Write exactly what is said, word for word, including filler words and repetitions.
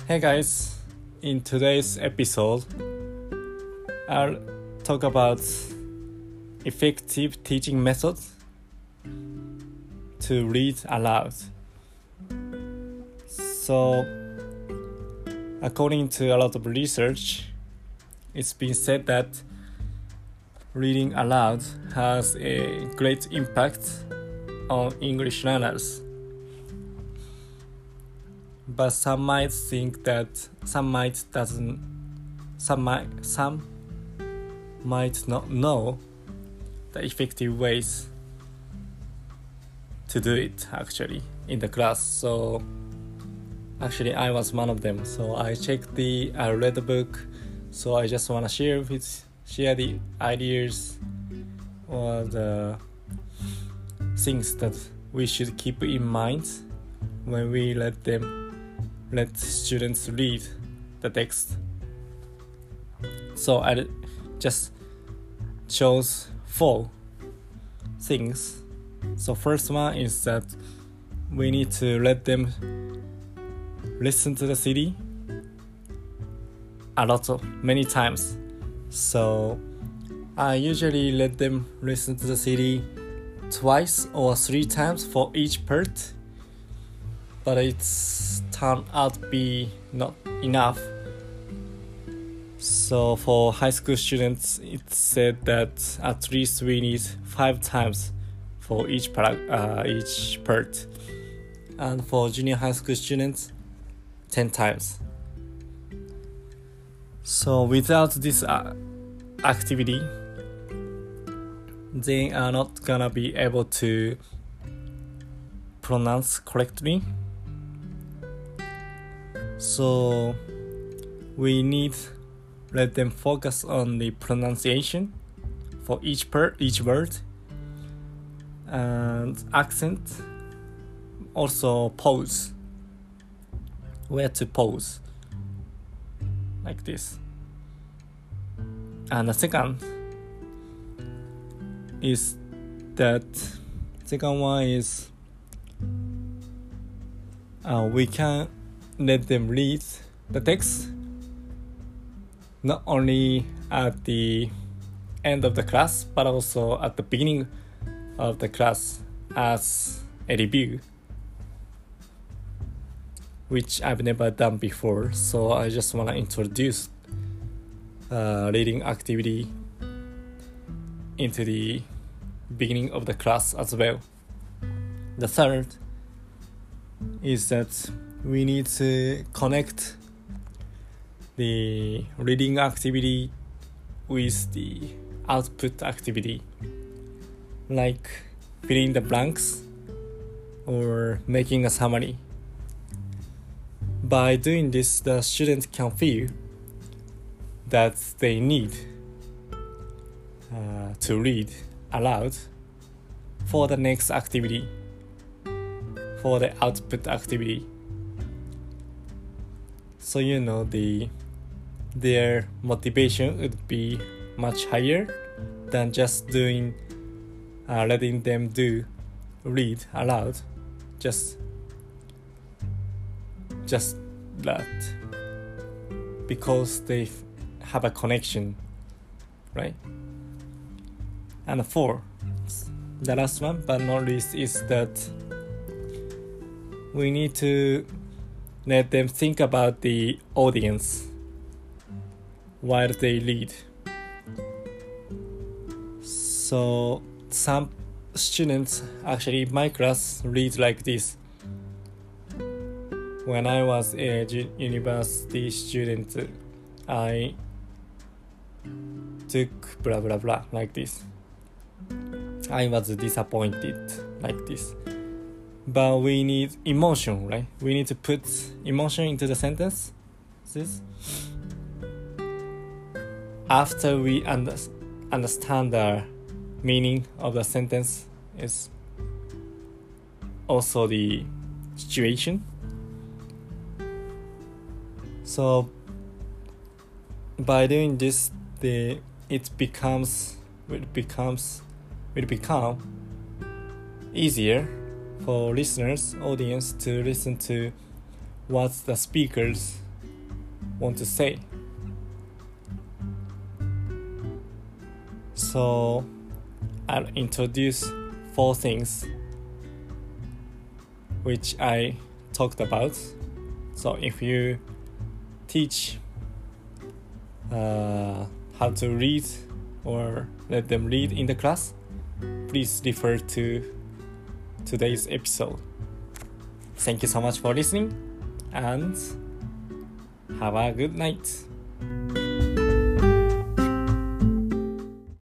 Hey guys, in today's episode, I'll talk about effective teaching methods to read aloud. So, according to a lot of research, it's been said that reading aloud has a great impact on English learners. But some might think that some might doesn't some might some might not know the effective ways to do it actually in the class. So actually I was one of them. So I checked the I read the book. So I just wanna share with share the ideas or the things that we should keep in mind when we let them let students read the text. So I just chose four things. So first one is that we need to let them listen to the C D a lot of many times. So I usually let them listen to the C D twice or three times for each part, but it's turned out to be not enough. So for high school students, it's said that at least we need five times for each part, uh, each part, and for junior high school students, ten times. So without this uh, activity, they are not gonna be able to pronounce correctly. So we need let them focus on the pronunciation for each per each word and accent. Also pause, where to pause, like this. And the second is that second one is uh, we can let them read the text not only at the end of the class but also at the beginning of the class as a review, which I've never done before. So I just want to introduce uh, reading activity into the beginning of the class as well. The third is that we need to connect the reading activity with the output activity, like filling the blanks or making a summary. By doing this, the students can feel that they need uh, to read aloud for the next activity, for the output activity. So you know the their motivation would be much higher than just doing uh, letting them do read aloud, just just that, because they have a connection, right? And four, the last one but not least, is that we need to let them think about the audience while they read. So some students, actually my class, read like this. When I was a university student, I took blah blah blah like this. I was disappointed like this. But we need emotion, right? We need to put emotion into the sentence. This. After we under, understand the meaning of the sentence is also the situation. So by doing this, the it becomes it becomes will become easier for listeners, audience, to listen to what the speakers want to say. So I'll introduce four things which I talked about. So if you teach uh, how to read or let them read in the class, please refer to today's episode. Thank you so much for listening and have a good night.